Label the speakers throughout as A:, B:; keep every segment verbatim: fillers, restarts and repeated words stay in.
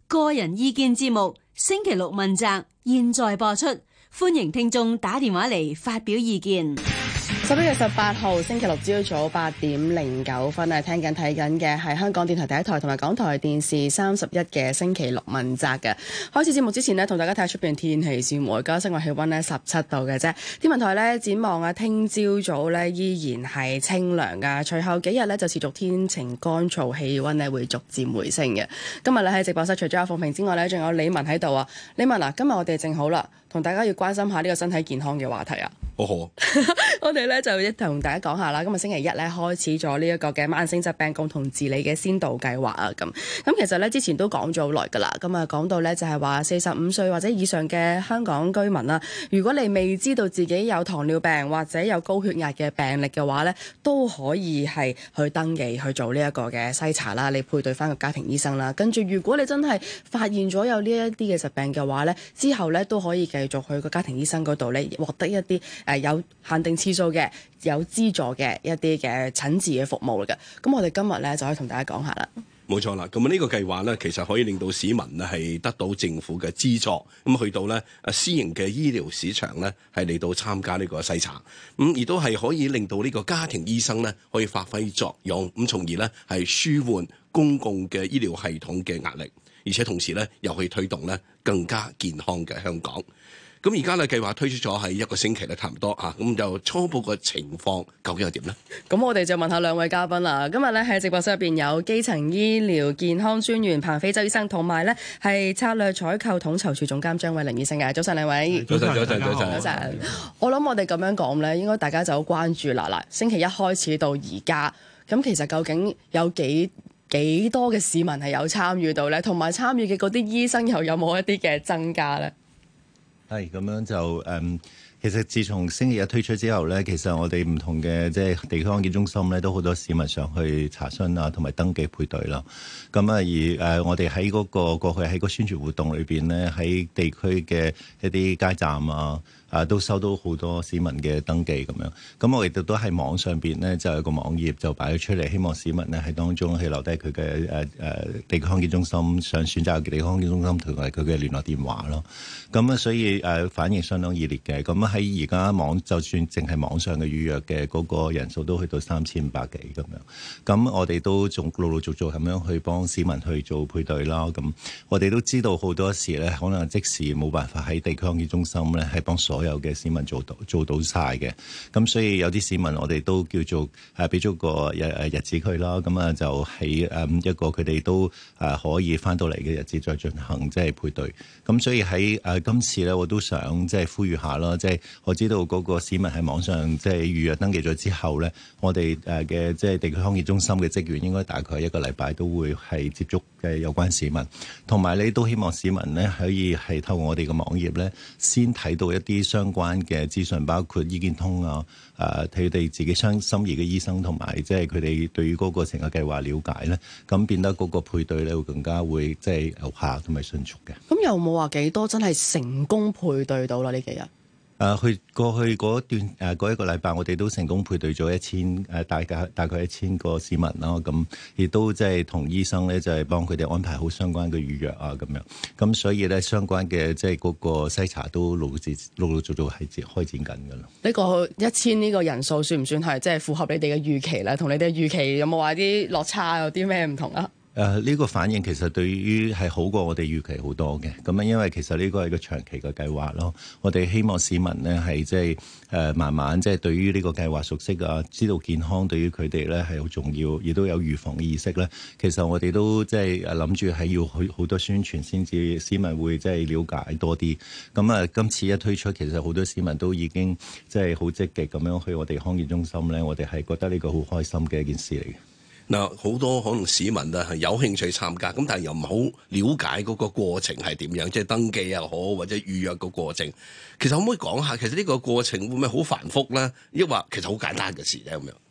A: 個人意見節目星期六問責，現在播出，歡迎聽眾打電話嚟發表意見。
B: 十一月十八號星期六朝早八點零九分啊，聽緊睇緊嘅係香港電台第一台同埋港台電視三十一嘅星期六問責嘅。開始節目之前呢，同大家睇下出邊天氣先。而家室外氣溫呢十七度嘅啫。天文台呢展望啊，聽朝早呢依然係清涼噶，隨後幾日呢就持續天晴乾燥，氣溫呢會逐漸回升嘅。今日呢喺直播室除咗阿鳳平之外呢，仲有李文喺度啊。李文啊，今日我哋正好啦，同大家要關心下呢個身體健康嘅話題啊。
C: 好好，
B: 我哋咧就一同大家講下啦。今日星期一咧開始咗呢一個嘅慢性疾病共同治理嘅先導計劃啊。咁咁其實咧之前都講咗好耐㗎啦。咁啊講到咧就係話四十五歲或者以上嘅香港居民啦，如果你未知道自己有糖尿病或者有高血壓嘅病歷嘅話咧，都可以係去登記去做呢一個嘅篩查啦。你配對翻個家庭醫生啦。跟住如果你真係發現咗有呢一啲嘅疾病嘅話咧，之後咧都可以繼續去個家庭醫生嗰度咧獲得一啲誒有限定次數嘅、有資助嘅一啲嘅診治嘅服務嚟嘅。咁我哋今日咧就可以同大家講下啦。
C: 冇錯啦，咁啊呢個計劃咧，其實可以令到市民咧係得到政府嘅資助，咁去到咧誒私營嘅醫療市場咧係嚟到參加呢個篩查，咁亦都係可以令到呢個家庭醫生咧可以發揮作用，咁從而咧係舒緩公共嘅醫療系統嘅壓力，而且同時咧又可以推動咧更加健康嘅香港。咁而家咧計劃推出咗係一個星期咧，差唔多啊，咁就初步嘅情況究竟係點呢？
B: 咁我哋就問下兩位嘉賓啦。今日咧喺直播室入邊有基層醫療健康專員彭飛舟醫生，同埋咧係策略採購統籌處總監張偉麟醫生嘅。早晨兩位。
C: 早晨，早晨，早晨。
B: 早晨。我諗我哋咁樣講咧，應該大家就好關注啦。嗱，星期一開始到而家，咁其實究竟有幾幾多嘅市民係有參與到咧？同埋參與嘅嗰啲醫生又有冇一啲嘅增加咧？
D: 係咁樣就誒、嗯，其實自從星期一推出之後咧，其實我哋唔同嘅即係地區康健中心咧，都好多市民上去查詢啊，同埋登記配對啦。咁啊，而誒、呃、我哋喺嗰個過去喺個宣傳活動裏邊咧，喺地區嘅一啲街站啊。啊，都收到好多市民嘅登記咁樣，咁我亦都都喺網上邊咧，就有個網頁就擺咗出嚟，希望市民咧喺當中係留低佢嘅誒誒地區康健中心想選擇嘅地區康健中心同埋佢嘅聯絡電話咯。咁啊，所以誒、呃、反應相當熱烈嘅。咁喺而家網就算淨係網上嘅預約嘅嗰個人數都去到三千五百幾咁樣。咁我哋都仲陸陸續續咁樣去幫市民去做配對啦。咁我哋都知道好多時咧，可能即時冇辦法喺地區康健中心咧係幫所所有嘅市民做到做到晒嘅，咁所以有啲市民我哋都叫做誒俾咗個日誒日子佢啦，咁啊就喺誒一個佢哋都誒可以翻到嚟嘅日子再進行即係配對。咁所以喺誒今次咧，我都想即係呼籲下啦，即係我知道嗰個市民喺網上即係預約登記咗之後咧，我哋誒嘅即係地區康健中心嘅職員應該大概一個禮拜都會係接觸嘅有關市民，同埋你都希望市民咧可以係透過我哋嘅網頁咧先睇到一啲相關嘅資訊，包括醫健通啊，誒佢哋自己相心儀嘅醫生，同埋即係佢哋對於嗰個成個計劃了解咧，咁變得嗰個配對咧會更加會即係有效同埋迅速嘅。
B: 咁有冇話幾多真係成功配對到啦？呢幾日？
D: 誒，去過去嗰段誒嗰一個禮拜，我哋都成功配對咗一千誒大概大概一千個市民啦。咁亦都即係同醫生咧，就係幫佢哋安排好相關嘅預約啊，咁樣。咁所以咧，相關嘅即係嗰個篩查都陸陸陸續續係開展緊㗎啦。
B: 呢個一千呢個人數算唔算係即係符合你哋嘅預期咧？同你哋嘅預期有冇話啲落差，有啲咩唔同啊？
D: 誒呢、呃這個反應其實對於係好過我哋預期好多嘅，咁啊因為其實呢個係個長期嘅計劃咯，我哋希望市民呢係即係誒慢慢即係對於呢個計劃熟悉啊，知道健康對於佢哋咧係好重要，亦都有預防嘅意識咧。其實我哋都即係誒諗住係要去好多宣傳先至市民會即係了解多啲。咁啊今次一推出，其實好多市民都已經即係好積極咁樣去我哋康健中心咧，我哋係覺得呢個好開心嘅一件事嚟嘅。
C: 嗱，好多可能市民啊係有興趣參加，咁但係又唔好了解嗰個過程係點樣，即係登記又好或者預約個過程。其實可唔可以講下，其實呢個過程會唔會好繁複咧？抑或其實好簡單嘅事咧咁樣？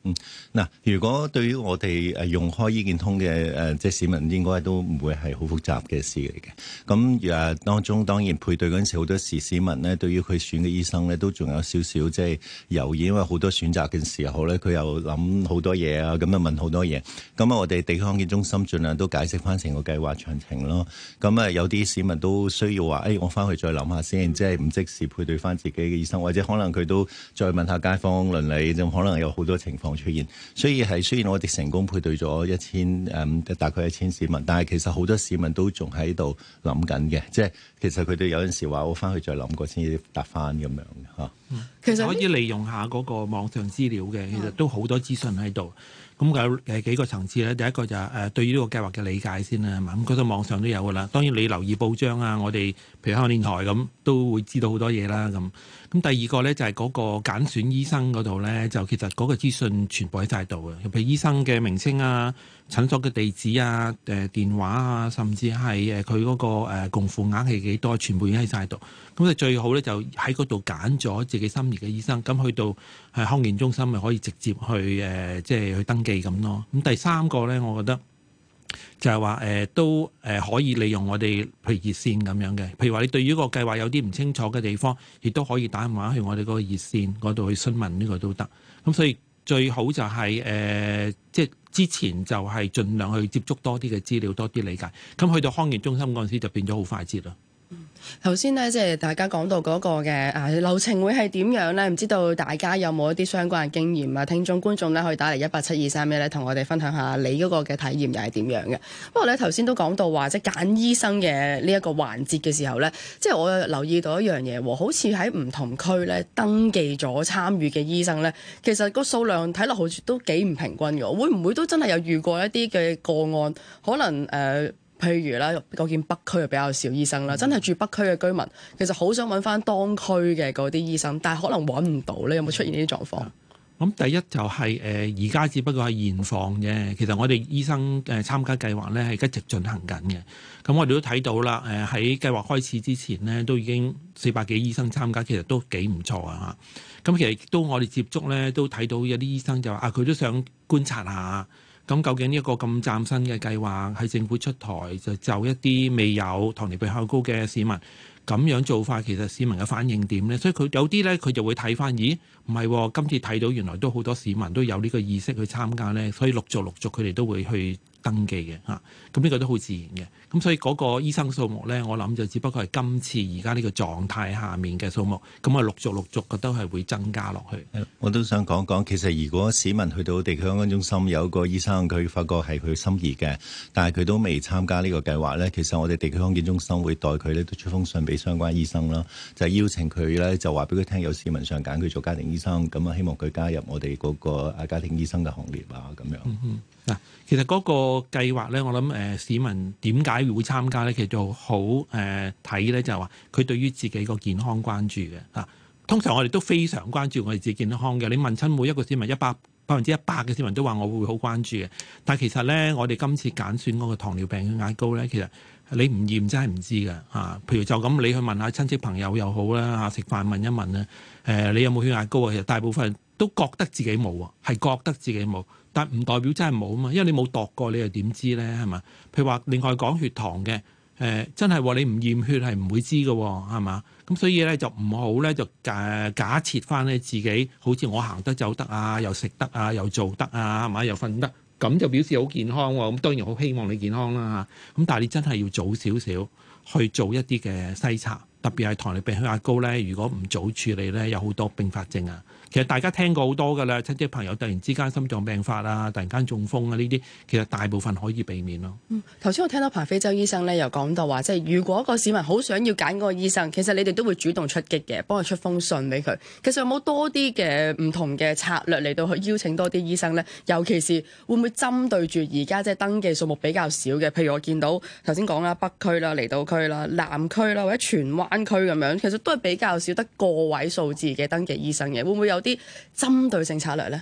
D: 嗯，嗱，如果對於我哋誒用開醫健通嘅誒、呃，即係市民應該都唔會係好複雜嘅事嚟嘅。咁誒當中當然配對嗰陣時，好多時市民咧對於佢選嘅醫生咧都仲有少少即係猶豫，因為好多選擇嘅時候咧，佢又諗好多嘢啊，咁啊問好多嘢。咁啊，我哋地區康健中心盡量都解釋翻成個計劃詳情咯。咁啊，有啲市民都需要話，誒、哎，我翻去再諗下先，即係唔即時配對翻自己嘅醫生，或者可能佢都再問下街坊鄰里，就可能有好多情況出現，所以係雖然我哋成功配對咗一千誒大概一千市民，但係其實好多市民都仲喺度諗緊嘅，即係其實佢哋有陣時話我翻去再諗過先至答翻咁樣嚇。
E: 嗯，其實可以利用下嗰個網上資料嘅，其實都好多資訊喺度。咁有誒幾個層次咧，第一個就係誒對於呢個計劃嘅理解先啦，係嘛？咁嗰度網上都有噶啦。當然你留意報章啊，我哋譬如香港電台咁都會知道好多嘢啦。咁咁第二個咧就係嗰個揀選醫生嗰度咧，就其實嗰個資訊全部喺晒度嘅，譬如醫生嘅名稱啊、診所嘅地址啊、誒電話啊，甚至係誒佢嗰個誒共付額係幾多，全部已經喺晒度。咁就最好咧就喺嗰度揀咗自己心儀嘅醫生，咁去到係康健中心咪可以直接去誒即係去登記咁咯。咁第三個咧，我覺得就係話誒都誒可以利用我哋譬如熱線咁樣嘅，譬如話你對於個計劃有啲唔清楚嘅地方，亦都可以打電話去我哋嗰個熱線嗰度去詢問，呢個都得。咁所以最好就係誒即係之前就係盡量去接觸多啲嘅資料，多啲理解。咁去到康健中心嗰陣時就變咗好快捷啦。
B: 頭先咧，即係大家講到嗰個嘅啊流程會係點樣咧？唔知道大家有冇一啲相關嘅經驗啊？聽眾觀眾咧可以打嚟一八七二三一咧，同我哋分享下你嗰個嘅體驗又係點樣嘅。不過咧頭先都講到話，即係揀醫生嘅呢一個環節嘅時候咧，即係我留意到一樣嘢，好似喺唔同區咧登記咗參與嘅醫生咧，其實個數量睇落好似都幾唔平均嘅。會唔會都真係有遇過一啲嘅個案？可能誒。呃譬如啦，我見北區比較少醫生啦，真係住北區嘅居民，其實好想揾翻當區嘅嗰啲醫生，但係可能揾唔到咧。有冇出現呢啲狀況？
E: 咁第一就係誒而家只不過係現況啫。其實我哋醫生誒參加計劃咧係一直進行緊嘅。咁我哋都睇到啦，誒喺計劃開始之前呢，都已經四百幾醫生參加，其實都幾唔錯啊！咁其實亦都我哋接觸咧，都睇到有啲醫生就話啊，佢都想觀察下。咁究竟呢一個咁嶄新嘅計劃喺政府出台，就就一啲未有糖尿病較高嘅市民咁樣做法，其實市民嘅反應點咧？所以佢有啲咧，佢就會睇翻，咦，唔係喎，今次睇到原來都好多市民都有呢個意識去參加咧，所以陸續陸續佢哋都會去登記嘅嚇。咁呢個都好自然嘅。咁所以嗰個醫生數目咧，我諗就只不過係今次而家呢個狀態下面嘅數目，咁啊陸續陸續覺得係會增加落去。
D: 我都想講講，其實如果市民去到地區康健中心有個醫生，佢發覺係佢心儀嘅，但係佢都未參加呢個計劃咧，其實我哋地區康健中心會代佢咧都出封信俾相關醫生啦，就係、是、邀請佢咧就話俾佢聽，有市民想揀佢做家庭醫生，咁啊希望佢加入我哋嗰個啊家庭醫生嘅行列啊咁樣。
E: 嗯嗯嗱，其實嗰個計劃咧，我諗誒、呃、市民點解會參加咧？其實就好誒睇咧，就係話佢對於自己個健康關注嘅嚇、啊。通常我哋都非常關注我哋自己健康嘅。你問親每一個市民，一百百分之一百嘅市民都話我會好關注嘅。但係其實咧，我哋今次揀選嗰個糖尿病血壓高咧，其實你唔驗真係唔知㗎嚇、啊。譬如就咁，你去問下親戚朋友又好啦嚇，食飯問一問咧，誒、呃、你有冇血壓高啊？其實大部分人都覺得自己冇喎，係覺得自己冇。但唔代表真係冇啊嘛，因為你冇度過，你又點知咧？係嘛？譬如話，另外講血糖嘅，誒、呃、真係你唔驗血係唔會知嘅，係嘛？咁所以咧就唔好咧就誒假設翻咧自己好似我行得走得啊，又食得啊，又做得啊，係嘛？又瞓得，咁就表示好健康喎。咁當然好希望你健康啦嚇。咁但係你真係要早少少去做一啲嘅篩查，特別係糖尿病血壓高咧，如果唔早處理咧，有好多併發症啊。其實大家聽過好多㗎啦，親戚朋友突然之間心臟病發啊，突然間中風啊，呢啲其實大部分可以避免咯。
B: 嗯，頭先我聽到彭飛舟醫生咧又講到話，即係如果個市民好想要揀嗰個醫生，其實你哋都會主動出擊嘅，幫佢出封信俾佢。其實有冇多啲嘅唔同嘅策略嚟到去邀請多啲醫生咧？尤其是會唔會針對住而家即係登記數目比較少嘅，譬如我見到頭先講啦，北區啦、離島區啦、南區啦或者荃灣區咁樣，其實都係比較少得個位數字嘅登記醫生嘅，會唔會有啲針對性策略咧？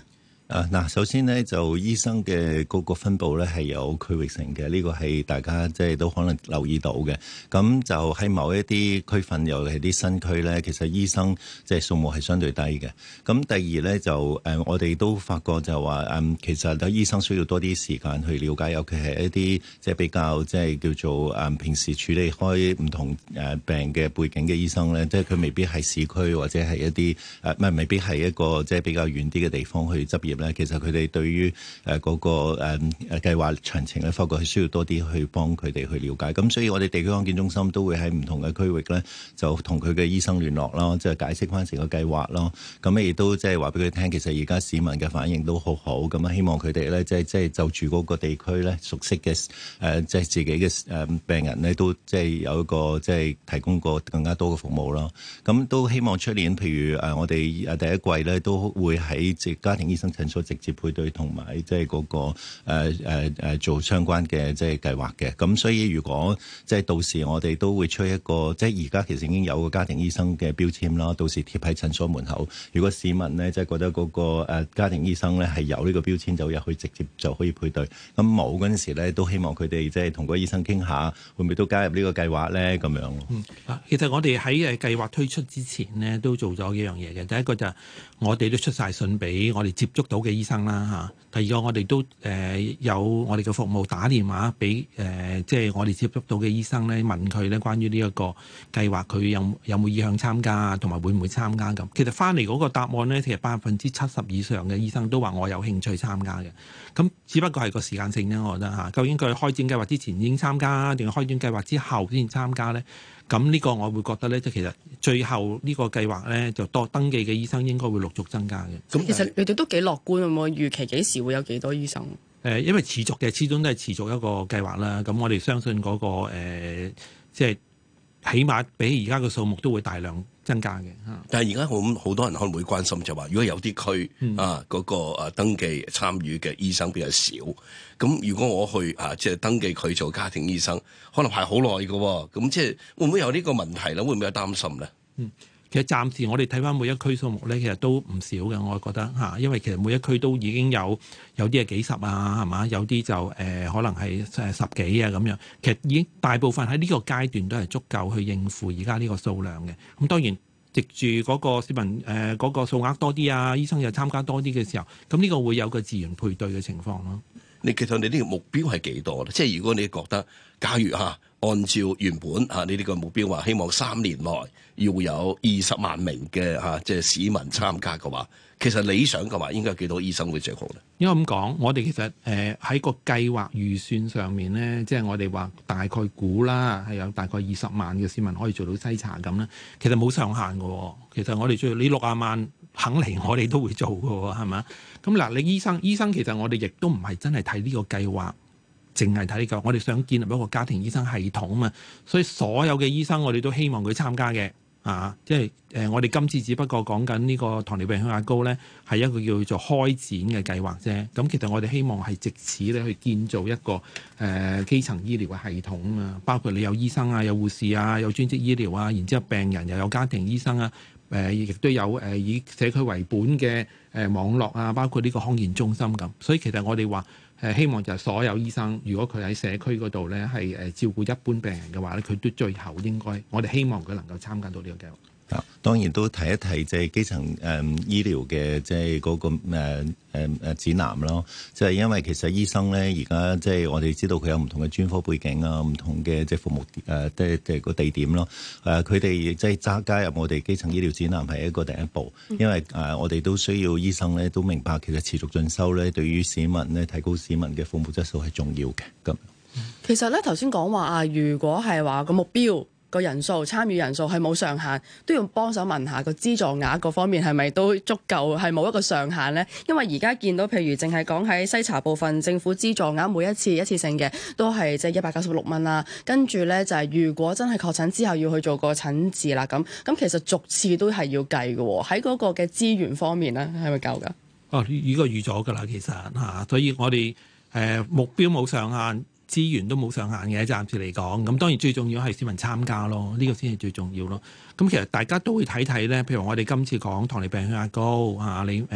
D: 啊嗱，首先咧就醫生嘅嗰個分佈咧係有區域性嘅，呢、這個係大家即係都可能留意到嘅。咁就喺某一啲區份，尤其係啲新區咧，其實醫生即係數目係相對低嘅。咁第二咧就誒、呃，我哋都發覺就話誒、嗯，其實啲醫生需要多啲時間去了解，尤其係一啲即係比較即係叫做誒、嗯、平時處理開唔同誒病嘅背景嘅醫生咧，即係佢未必係市區或者係一啲誒唔係未必係一個即係比較遠啲嘅地方去執業。其實佢哋對於誒嗰個誒誒計劃詳情咧，發覺係需要多啲去幫佢哋去了解。咁所以我哋地區康健中心都會喺唔同嘅區域咧，就同佢嘅醫生聯絡咯，即係解釋翻成個計劃咯。咁亦都即係話俾佢聽，其實而家市民嘅反應都好好。咁啊，希望佢哋咧，即係即係就住嗰個地區咧，熟悉嘅誒，即係自己嘅誒病人咧，都即係有一個即係提供個更加多嘅服務咯。咁都希望出年，譬如誒我哋誒第一季咧，都會喺即係家庭醫生診所直接配對同埋即係嗰個誒誒誒做相關嘅即係計劃嘅。咁所以如果即係到時我哋都會出一個，即係而家其實已經有個家庭醫生嘅標籤啦，到時貼喺診所門口。如果市民呢，即係覺得嗰個誒家庭醫生咧係有呢個標籤，就入去直接就可以配對。咁冇嗰陣時咧，都希望佢哋即係同個醫生傾下，會唔會都加入呢個計劃咧？咁樣。
E: 嗯，其實我哋喺誒計劃推出之前呢，都做咗幾樣嘢嘅。第一個就係我哋都出晒信俾我哋接觸到嘅醫生啦嚇。第二個我哋都誒、呃、有我哋嘅服務打電話俾誒即係我哋接觸到嘅醫生咧，問佢咧關於呢一個計劃，佢有有冇意向參加啊，同埋會唔會參加咁。其實翻嚟嗰個答案咧，其實百分之七十以上嘅醫生都話我有興趣參加嘅。咁只不過係個時間性啫，我覺得嚇。究竟佢開展計劃之前已經參加，定係開展計劃之後先參加咧？咁呢個我會覺得咧，即係其實最後呢個計劃咧，就多登記嘅醫生應該會陸續增加嘅。
B: 咁其實你哋都幾樂觀，有冇預期幾時會有幾多醫生？誒、
E: 呃，因為持續嘅，始終都係持續一個計劃啦。咁我哋相信嗰、那個、呃、即係起碼比而家嘅數目都會大量增加嘅嚇。
C: 但係而家好好多人可能會關心就話，如果有啲區、嗯、啊嗰、那個啊登記參與嘅醫生比較少，咁如果我去啊即係登記佢做家庭醫生，可能排好耐嘅喎，咁即係會唔會有呢個問題咧？會唔會有擔心咧？
E: 嗯，其實暫時我哋睇翻每一區數目咧，其實都唔少嘅，我覺得嚇，因為其實每一區都已經有有啲係幾十啊，係嘛？有啲就誒、呃、可能係誒十幾啊咁樣，其實已經大部分喺呢個階段都係足夠去應付而家呢個數量嘅。咁當然，藉住嗰個市民誒嗰、呃嗰個數額多啲啊，醫生又參加多啲嘅時候，咁呢個會有個自然配對嘅情況咯。
C: 你其實你呢個目標係幾多咧？即係如果你覺得，假如嚇按照原本嚇你呢個目標話，希望三年內要有二十萬名嘅嚇即係市民參加嘅話，其實理想嘅話應該有幾多醫生會最好咧？
E: 應該咁講，我哋其實誒喺、呃、個計劃預算上面咧，即係我哋話大概估啦，係有大概二十萬嘅市民可以做到篩查咁咧。其實冇上限嘅，其實我哋最你六十萬肯嚟，我哋都會做嘅，係咪？咁嗱，你醫生醫生其實我哋亦都唔係真係睇呢個計劃，淨係睇呢個，我哋想建立一個家庭醫生系統啊嘛。所以所有嘅醫生我哋都希望佢參加嘅。啊，即係誒、呃，我哋今次只不過講緊呢個糖尿病血壓高咧，係一個叫做開展嘅計劃啫。咁其實我哋希望係藉此咧去建造一個誒、呃、基層醫療嘅系統啊嘛，包括你有醫生啊，有護士啊，有專職醫療啊，然之後病人又有家庭醫生啊，誒、呃、亦都有誒、呃、以社區為本嘅誒、呃、網絡啊，包括呢個康健中心咁。所以其實我哋話。誒希望就係所有醫生，如果佢喺社區嗰度咧係誒照顧一般病人嘅話咧，佢都最後應該，我哋希望佢能夠參加到呢個計劃。
D: 啊，當然都提一提即係基層誒、嗯、醫療嘅即係嗰個誒誒誒指南咯。即係因為其實醫生咧而家即係我哋知道佢有唔同嘅專科背景啊，唔同嘅即係服務誒即係即係個地點咯。誒佢哋即係加加入我哋基層醫療指南係一個第一步，因為誒、呃、我哋都需要醫生咧都明白其實持續進修咧對於市民咧提高市民嘅服務質素係重要嘅。咁
B: 其實咧頭先講話啊，如果係話個目標。個人數參與人數係冇上限，都要幫手問下個資助額嗰方面係咪都足夠，係冇一個上限呢？因為而家見到譬如淨係講喺篩查部分，政府資助額每一次一次性嘅都係即係一百九十六蚊啦。跟住呢，就係、是、如果真係確診之後要去做個診治啦，咁咁其實逐次都係要計嘅喎。喺嗰個嘅資源方面呢，係咪夠㗎？
E: 哦，呢個預咗㗎啦，其實嚇，所以我哋誒、呃、目標冇上限。資源都冇上限嘅，暫時嚟講，咁當然最重要係市民參加咯，呢、這個先係最重要咯。咁其實大家都會睇睇咧，譬如我哋今次講糖尿病血壓高啊，你誒、呃、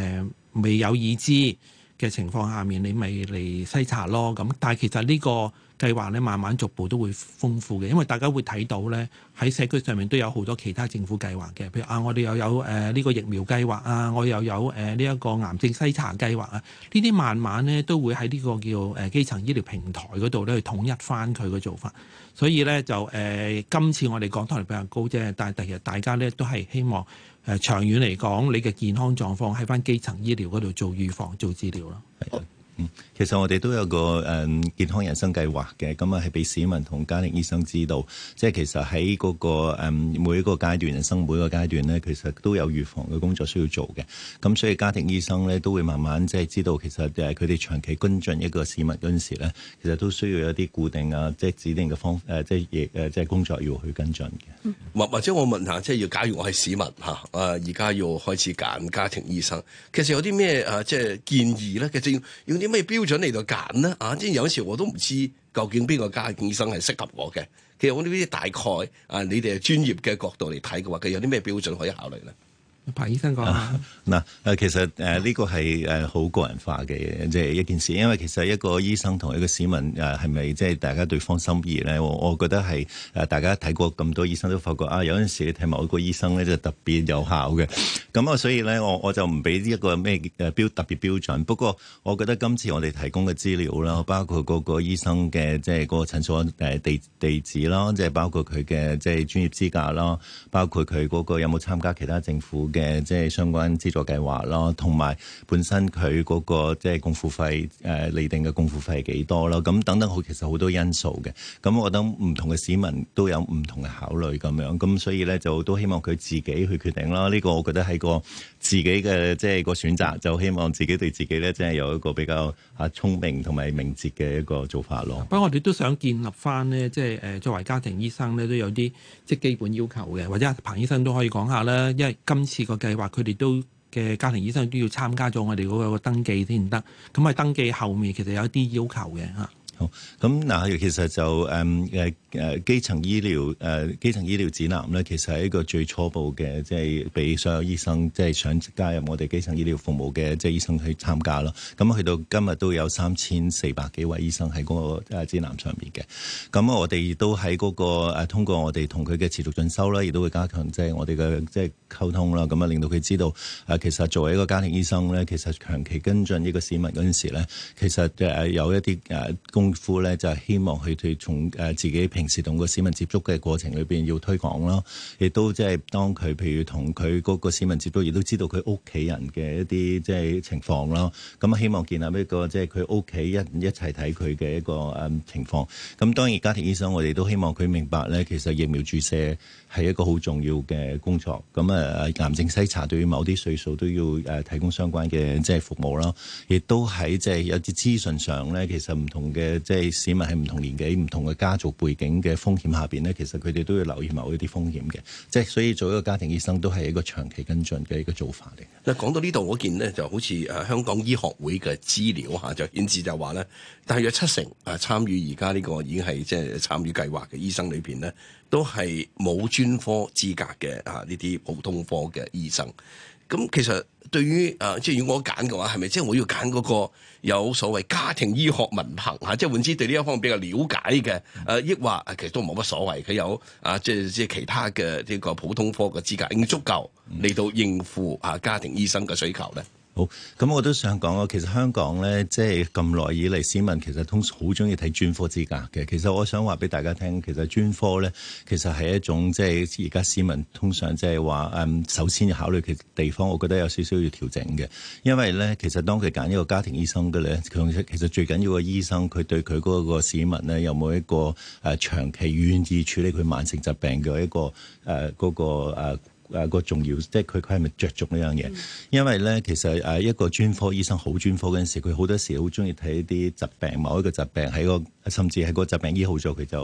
E: 未有已知嘅情況下面，你咪嚟篩查咯。咁但係其實呢個計劃咧，慢慢逐步都會豐富嘅，因為大家會睇到咧，喺社區上面都有好多其他政府計劃嘅，譬如啊，我哋又有誒呢、呃這個疫苗計劃啊，我又有誒呢一個癌症篩查計劃啊，呢啲慢慢咧都會喺呢個叫誒、呃、基層醫療平台嗰度咧去統一翻佢嘅做法。所以咧就誒、呃、今次我哋講得嚟比較高啫，但係第日大家咧都係希望誒、呃、長遠嚟講，你嘅健康狀況喺翻基層醫療嗰度做預防、做治療咯。
D: 嗯，其實我哋都有個誒、嗯、健康人生計劃嘅，咁啊係俾市民同家庭醫生知道，即係其實喺嗰、那個、嗯、每一個階段人生每一個階段咧，其實都有預防嘅工作需要做嘅。咁所以家庭醫生咧都會慢慢即係知道，其實誒佢哋長期跟進一個市民嗰陣時咧，其實都需要有一啲固定啊，即係指定嘅方誒、呃，即係亦誒即係工作要去跟進嘅。
C: 或、嗯、或者我問下，即係要假如我係市民嚇，誒而家要開始揀家庭醫生，其實有啲咩誒即係建議咧？其實要用啲咩標準嚟到揀呢？啊，即係有時我都唔知究竟邊個家庭醫生係適合我嘅。其實我呢啲大概啊，你哋係專業嘅角度嚟睇嘅話，佢有啲咩標準可以考慮咧？
E: 彭醫生講下
D: 嗱，誒其實誒呢個係誒好個人化嘅即係一件事，因為其實一個醫生同一個市民誒係咪即係大家對方心意咧？我我覺得係誒大家睇過咁多醫生都發覺啊，有陣時你睇某一個醫生咧就特別有效嘅，咁啊所以咧我我就唔俾一個咩誒標特別標準。不過我覺得今次我哋提供嘅資料啦，包括嗰個醫生嘅即係嗰個診所誒地地址啦，即係包括佢嘅即係專業資格啦，包括佢嗰個有冇參加其他政府嘅即係相關資助計劃啦，同埋本身佢嗰個即係共付費誒釐定嘅共付費係幾多啦，咁等等好其實好多因素嘅。咁我覺得唔同嘅市民都有唔同嘅考慮咁樣，咁所以咧就都希望佢自己去決定啦。呢個我覺得係個自己嘅即係個選擇，就希望自己對自己咧即係有一個比較啊聰明同埋明智嘅一個做法咯。
E: 不過我哋都想建立翻呢，即係誒作為家庭醫生咧都有啲即係基本要求嘅，或者彭醫生都可以講下啦。因為今次個計劃佢哋都嘅家庭醫生都要參加咗我哋嗰個登記先得，咁喺登記後面其實有一啲要求嘅嚇。
D: 好，咁嗱，其實就誒誒誒基層醫療誒、呃、基層醫療指南咧，其實係一個最初步嘅，即係俾所有醫生即係、就是、想加入我哋基層醫療服務嘅即係醫生去參加咯。咁去到今日都有三千四百幾位醫生喺嗰個誒指南上面嘅。咁我哋亦都喺嗰個誒通過我哋同佢嘅持續進修啦，亦都會加強即係我哋嘅即係溝通啦。咁啊令到佢知道誒其實作為一個家庭醫生咧，其實長期跟進呢個市民嗰陣時咧，其實誒有一啲誒工夫咧，就係希望佢哋從誒自己平時同個市民接觸嘅過程裏邊要推廣啦，亦都即係當佢譬如同佢嗰個市民接觸，亦都知道佢屋企人嘅一啲即係情況啦。咁希望建立一個即係佢屋企一一齊睇佢嘅一個誒情況。咁當然家庭醫生我哋都希望佢明白咧，其實疫苗注射係一個好重要嘅工作。咁啊癌症篩查對於某啲歲數都要誒提供相關嘅即係服務啦。亦都喺即係有啲資訊上咧，其實唔同嘅即係市民喺唔同年紀、唔同嘅家族背景嘅風險下邊咧，其實佢哋都要留意某一啲風險嘅。即係所以做一個家庭醫生都係一個長期跟進嘅一個做法嚟。
C: 嗱，講到呢度，我見呢就好似誒香港醫學會嘅資料嚇，就顯示就話咧，大約七成誒參與而家呢個已經係即係參與計劃嘅醫生裏邊咧，都係冇專科資格嘅啊呢啲普通科嘅醫生。咁其實對於誒、呃，即係如果我揀嘅話，係咪即係我要揀嗰個有所謂家庭醫學文憑嚇？即係換之對呢一方面比較了解嘅誒，抑、呃、或其實都冇乜所謂，佢有啊，即係即係其他嘅呢個普通科嘅資格已經足夠嚟到應付啊家庭醫生嘅需求咧。
D: 好，咁我都想講啊，其實香港咧，即係咁耐以嚟，市民其實通常好中意睇專科資格嘅。其實我想話俾大家聽，其實專科咧，其實係一種即係而家市民通常即係話誒，首先要考慮嘅地方，我覺得有少少要調整嘅。因為咧，其實當佢揀一個家庭醫生嘅咧，佢其實最緊要個醫生，佢對佢嗰個市民咧，有冇一個誒、呃、長期願意處理佢慢性疾病嘅一個誒嗰、呃嗰個誒。呃誒、啊、個重要，即係佢佢係咪着重呢樣嘢？嗯、因為咧，其實誒一個專科醫生好專科嗰陣時，佢好多時好中意睇一啲疾病，某一個疾病喺個甚至係個疾病醫好咗，佢就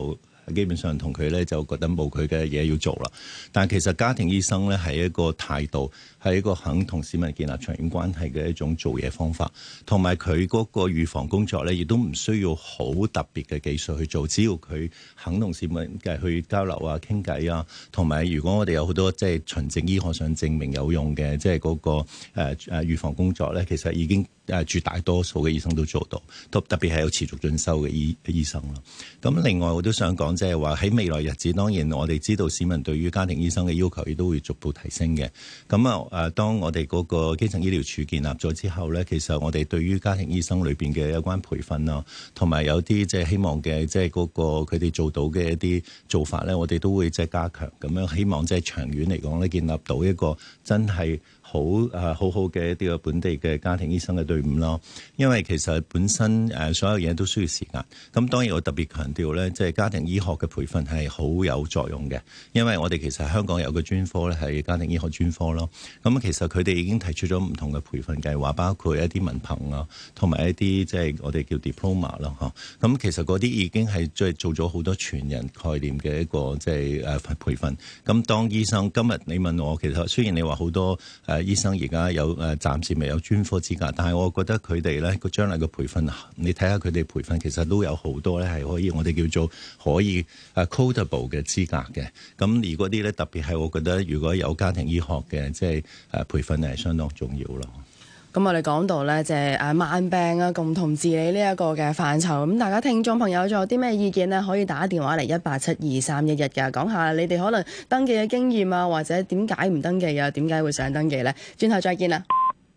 D: 基本上同佢咧就覺得冇佢嘅嘢要做啦。但其實家庭醫生咧係一個態度，係一個肯同市民建立長遠關係嘅一種做嘢方法，同埋佢嗰個預防工作咧，亦都唔需要好特別嘅技術去做，只要佢肯同市民嘅去交流啊、傾偈啊，同埋如果我哋有好多即係循證醫學上證明有用嘅，即係嗰個誒誒預防工作咧，其實已經誒絕大多數嘅醫生都做到，特特別係有持續進修嘅醫醫生咯。咁另外我都想講，即係話喺未來日子，當然我哋知道市民對於家庭醫生嘅要求亦都會逐步提升嘅。咁啊誒，當我哋嗰個基層醫療處建立咗之後咧，其實我哋對於家庭醫生裏邊嘅有關培訓啊，同埋有啲即係希望嘅即係嗰個佢哋做到嘅一啲做法咧，我哋都會即係加強，咁樣希望即係長遠嚟講咧，建立到一個真係好誒、啊、好好嘅一啲嘅本地嘅家庭醫生嘅隊伍咯。因為其實本身誒、啊、所有嘢都需要時間。咁當然我特別強調咧，即係家庭醫學嘅培訓係好有作用嘅，因為我哋其實香港有個專科咧係家庭醫學專科咯。咁其實佢哋已經提出咗唔同嘅培訓計劃，包括一啲文憑啊，同埋一啲即係我哋叫 diploma 啦嚇。咁其實嗰啲已經係即係做咗好多全人概念嘅一個即係誒培訓。咁當醫生今日你問我，其實雖然你話好多誒、呃、醫生而家有誒、呃、暫時未有專科資格，但係我覺得佢哋咧個將來嘅培訓，你睇下佢哋培訓其實都有好多咧係可以我哋叫做可以誒 codable 嘅資格嘅。咁而嗰啲咧特別係我覺得如果有家庭醫學嘅即係誒培訓係相當重要咯。
B: 咁我哋講到咧，即係誒慢病啊，共同治理呢一個嘅範疇。咁大家聽眾朋友仲有啲咩意見呢？可以打電話嚟一八七二三一一嘅，講下你哋可能登記嘅經驗啊，或者點解唔登記啊？點解會想登記呢？轉頭再見啦。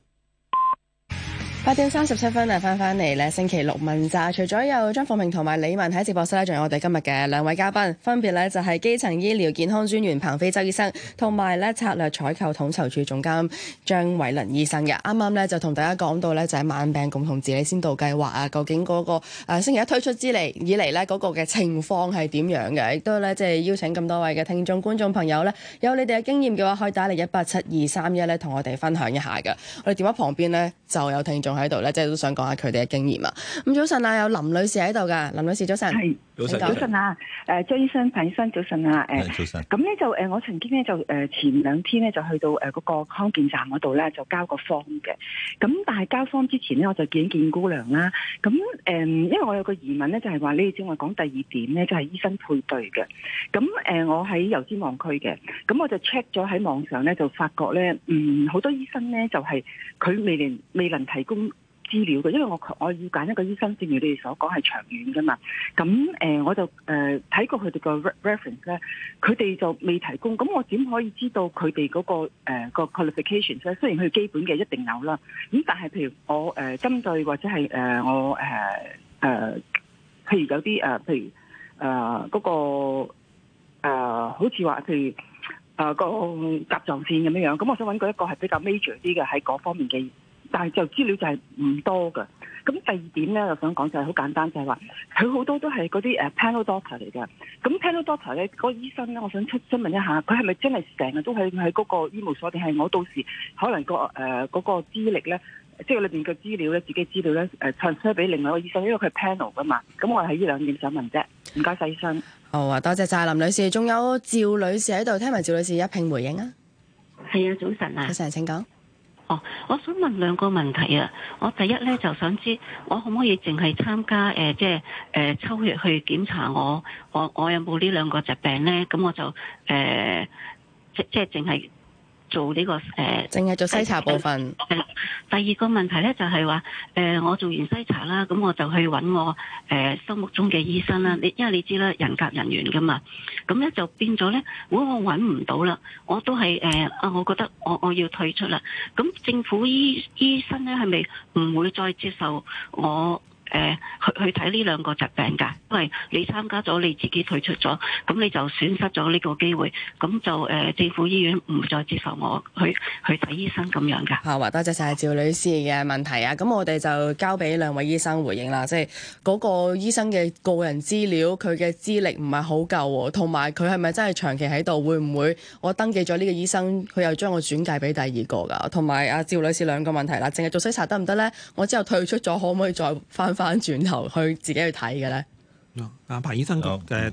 B: 八點三十七分啊，翻返嚟咧，星期六問責，除咗有張鳳明同埋李文喺直播室咧，仲有我哋今日嘅兩位嘉賓，分別咧就係基層醫療健康專員彭飛舟醫生，同埋咧策略採購統籌處總監張偉麟醫生嘅。啱啱咧就同大家講到咧就係慢病共同治理先導計劃啊，究竟嗰、那個誒、呃、星期一推出之嚟以嚟咧嗰個嘅情況係點樣嘅？亦都咧即係邀請咁多位嘅聽眾觀眾朋友咧，有你哋嘅經驗嘅話，可以打嚟一八七二三一咧，同我哋分享一下嘅。我哋電話旁邊咧就有聽眾喺度咧，即係都想講下佢哋嘅經驗啊。咁早晨啊，有林女士喺度噶，林女士早晨。係
F: 早晨，早晨啊！誒，張醫生、彭醫生早晨啊！誒，
D: 早晨。
F: 咁咧就誒，我曾經咧就誒前兩天咧就去到誒嗰個康健站嗰度咧就交個 form 嘅。咁但係交 form 之前咧，我就見見姑娘啦。咁誒，因為我有個疑問咧，就係話你哋正話講第二點咧，就係醫生配對嘅。咁誒，我喺油尖旺區嘅，咁我就 check 咗喺網上咧，就發覺咧，嗯，好多醫生咧就係佢未能未能提供資料嘅，因為我我要揀一個醫生，正如你哋所講係長遠㗎嘛。咁誒、呃，我就誒睇、呃、過佢哋個 reference 咧，佢哋就未提供。咁我點可以知道佢哋嗰個誒、呃、個 qualifications 咧？雖然佢基本嘅一定有啦，咁但係譬如我誒、呃、針對或者係誒、呃、我誒誒、呃，譬如有啲誒、呃，譬如誒嗰、呃那個誒、呃，好似話譬如誒、呃、個甲狀腺咁樣樣。咁我想揾個一個係比較 major 啲嘅喺嗰方面嘅。但係就資料就係唔多㗎。咁第二點咧，我想講就係好簡單，就係話佢好多都係嗰啲誒 panel doctor 嚟㗎。咁 panel doctor 咧，嗰個醫生咧，我想出詢問一下，佢係咪真係成日都喺喺嗰個醫務所，定係我到時可能、個誒嗰、呃嗰個資歷咧，即係裏邊嘅資料咧，自己資料咧誒 transfer 俾另外一個醫生，因為佢係 panel 㗎嘛。咁我係呢兩點想問啫。唔該晒醫生。
B: 好啊，多謝晒林女士，仲有趙女士喺度，聽埋趙女士一併回應啊。
G: 係啊，早晨啊。
B: 早晨，請講。
G: 哦，我想問兩個問題啊。我第一咧就想知，我可唔可以淨係參加誒、呃，即係誒、呃、抽血去檢查我，我我有冇呢兩個疾病咧？咁我就誒、呃，即即係淨係做呢、這個誒，淨、呃、
B: 係做篩查部分。
G: 係、呃。第二個問題咧就係、是、話，誒、呃，我做完篩查啦，咁我就去揾我誒、呃、心目中嘅醫生啦。你因為你知啦，人夾人緣噶嘛，咁咧就變咗咧，如果我揾唔到啦，我都係誒啊，我覺得我我要退出啦。咁政府醫醫生咧係咪唔會再接受我？誒、呃、去去睇呢兩個疾病㗎，因為你參加咗你自己退出咗，咁你就損失咗呢個機會，咁就誒、呃、政府醫院唔再接受我去去睇醫生咁樣㗎。
B: 好啊，多謝晒趙女士嘅問題啊，咁我哋就交俾兩位醫生回應啦，即係嗰個醫生嘅個人資料，佢嘅資歷唔係好夠，同埋佢係咪真係長期喺度？會唔會我登記咗呢個醫生，佢又將我轉介俾第二個㗎？同埋阿趙女士兩個問題啦，淨係做篩查得唔得咧？我之後退出咗，可唔可以再翻翻轉頭去自己去睇嘅咧？
E: 啊，彭醫生嘅第一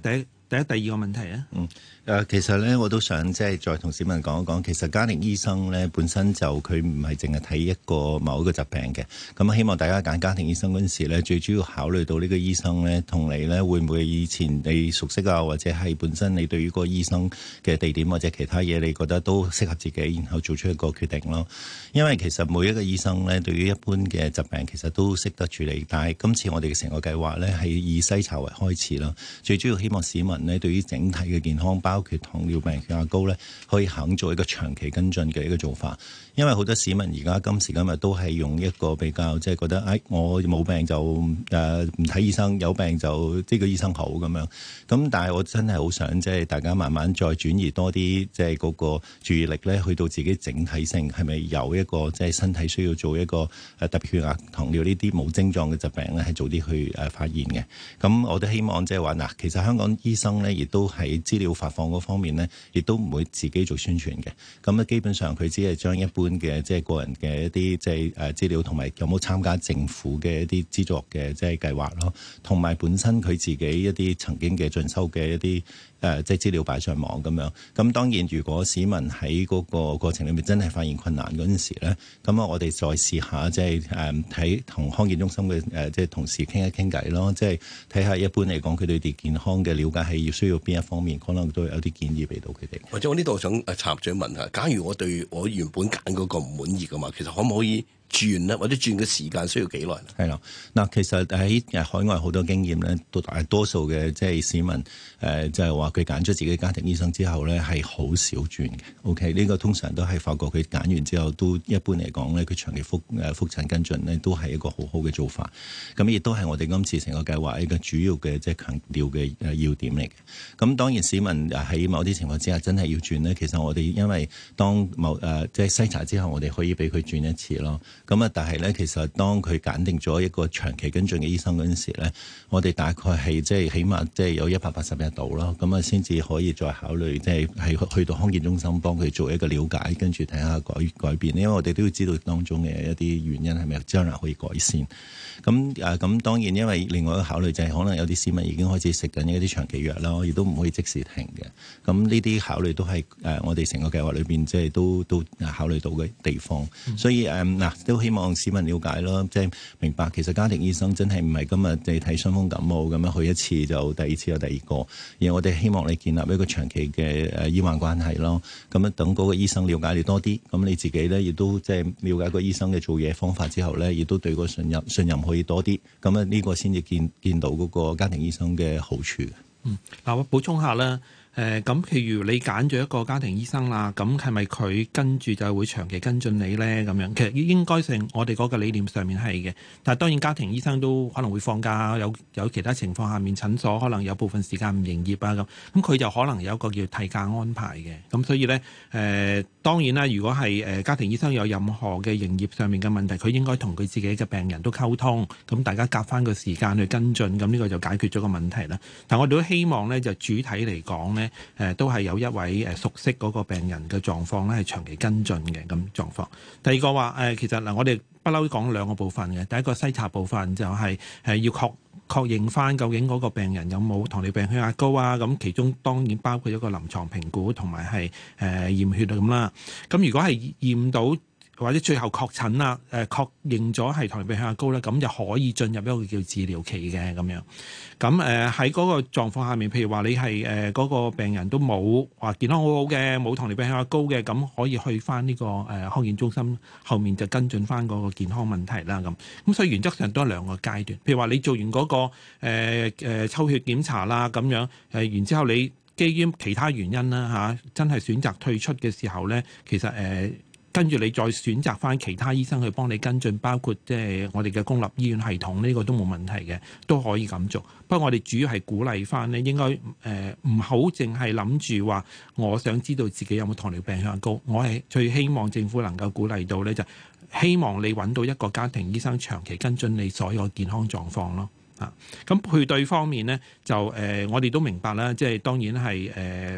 E: 第一、第二個問題啊。
D: 嗯，誒、呃，其實咧，我都想即係再同市民講一講，其實家庭醫生咧本身就佢唔係淨係睇一個某一個疾病嘅。咁希望大家揀家庭醫生嗰陣時咧，最主要考慮到呢個醫生咧同你咧會唔會以前你熟悉啊，或者係本身你對於個醫生嘅地點或者其他嘢，你覺得都適合自己，然後做出一個決定咯。因為其實每一個醫生咧對於一般嘅疾病其實都識得處理，但係今次我哋嘅成個計劃咧係以篩查為開始啦。最主要希望市民咧對於整體嘅健康，包括糖尿病、血壓高咧，可以肯做一個長期跟進嘅一個做法。因為好多市民而家今時今日都係用一個比較即係覺得，哎，我冇病就誒唔睇醫生，有病就呢個醫生好咁樣。咁但係我真係好想即係大家慢慢再轉移多啲即係嗰個注意力咧，去到自己整體性係咪有一個即係身體需要做一個誒特別血壓、糖尿呢啲冇症狀嘅疾病咧，係早啲去誒發現嘅。咁我都希望即係話嗱，其實香港醫生咧亦都喺資料發放嗰方面咧，亦都唔會自己做宣傳嘅。咁咧基本上佢只係將一般嘅即係個人嘅一啲即係誒資料，同埋有冇參加政府嘅一啲資助嘅即係計劃咯，同埋本身佢自己一啲曾經嘅進修嘅一啲誒即係資料擺上網咁樣。咁當然如果市民喺嗰個過程裏面真係發現困難嗰陣時咧，咁啊我哋再試下即係誒睇同康健中心嘅誒即係同事傾一傾偈咯，即係睇下一般嚟講佢哋對健康嘅了解係要需要邊一方面，可能都有啲建議俾到佢哋。
C: 或者我呢度想誒插嘴問下，假如我對我原本揀嗰個唔滿意㗎嘛，其實可唔可以轉咧，或者轉嘅時間需要幾耐咧？係
D: 啦，嗱，其實喺海外好多經驗咧，都大多數嘅即係市民誒、呃，就係話佢揀咗自己家庭醫生之後咧，係好少轉嘅。OK，呢個通常都係發覺佢揀完之後，都一般嚟講咧，佢長期覆誒覆診跟進咧，都係一個好好嘅做法。咁亦都係我哋今次成個計劃一個主要嘅即係強調嘅誒要點嚟嘅。咁當然市民喺某啲情況之下真係要轉咧，其實我哋因為當某誒即係篩查之後，我哋可以俾佢轉一次咯。咁啊，但係咧，其實當佢揀定咗一個長期跟進嘅醫生嗰陣時咧，我哋大概係即係起碼即係有一百八十日度咯，咁啊先至可以再考慮，即係係去到康健中心幫佢做一個了解，跟住睇下改改變。因為我哋都要知道當中嘅一啲原因係咪將來可以改善。咁誒咁當然，因為另外一個考慮就係可能有啲市民已經開始食緊一啲長期藥啦，亦都唔可以即時停嘅。咁呢啲考慮都係誒我哋成個計劃裏邊即係都都考慮到嘅地方。嗯、所以誒嗱都希望市民了解咯，即係明白其實家庭醫生真係唔係今日你睇傷風感冒咁樣去一次就第二次有第二個，而我哋希望你建立一個長期嘅誒醫患關係咯。咁樣等嗰個醫生了解你多啲，咁你自己咧亦都即係了解個醫生嘅做嘢方法之後咧，亦都對個信任信任可以多啲。咁啊呢個先至見見到嗰個家庭醫生嘅好處。
E: 嗯，嗱我補充下啦。誒咁，譬、呃、如你揀咗一個家庭醫生啦，咁係咪佢跟住就會長期跟進你咧？咁樣其實應該性，我哋嗰個理念上面係嘅。但係當然家庭醫生都可能會放假，有有其他情況下面診所可能有部分時間唔營業啊咁，咁佢就可能有一個叫替假安排嘅。咁所以咧誒、呃，當然啦，如果係誒家庭醫生有任何嘅營業上面嘅問題，佢應該同佢自己嘅病人都溝通，咁大家夾翻個時間去跟進，咁呢個就解決咗個問題啦。但我哋都希望咧，就主體嚟講咧。誒、呃、都係有一位誒熟悉嗰個病人嘅狀況咧，係長期跟進嘅咁狀況。第二個話誒、呃，其實嗱、呃，我哋不嬲講兩個部分嘅。第一個篩查部分就係、是、誒、呃、要確確認翻究竟嗰個病人有冇糖尿病、血壓高啊。咁其中當然包括一個臨床評估同埋係誒驗血咁啦。咁如果係驗到或者最後確診啦，誒確認咗係糖尿病血壓高咧，咁就可以進入一個叫治療期嘅咁樣。咁誒喺嗰個狀況下面，譬如話你係誒嗰個病人都冇話健康好好嘅，冇糖尿病血壓高嘅，咁可以去翻呢個誒康健中心後面就跟進翻嗰個健康問題啦。咁咁所以原則上都係兩個階段。譬如話你做完嗰、那個誒、呃呃、抽血檢查啦，咁樣誒然之後你基於其他原因啦嚇、啊，真係選擇退出嘅時候咧，其實誒。呃跟住你再選擇翻其他醫生去幫你跟進，包括即係我哋嘅公立醫院系統，呢個都冇問題嘅，都可以咁做。不過我哋主要係鼓勵翻咧，應該誒唔好淨係諗住話，我想知道自己有冇糖尿病血壓高。我係最希望政府能夠鼓勵到咧，就希望你揾到一個家庭醫生長期跟進你所有健康狀況咯。啊，咁配對方面咧，就誒、呃、我哋都明白啦，即係當然係誒。呃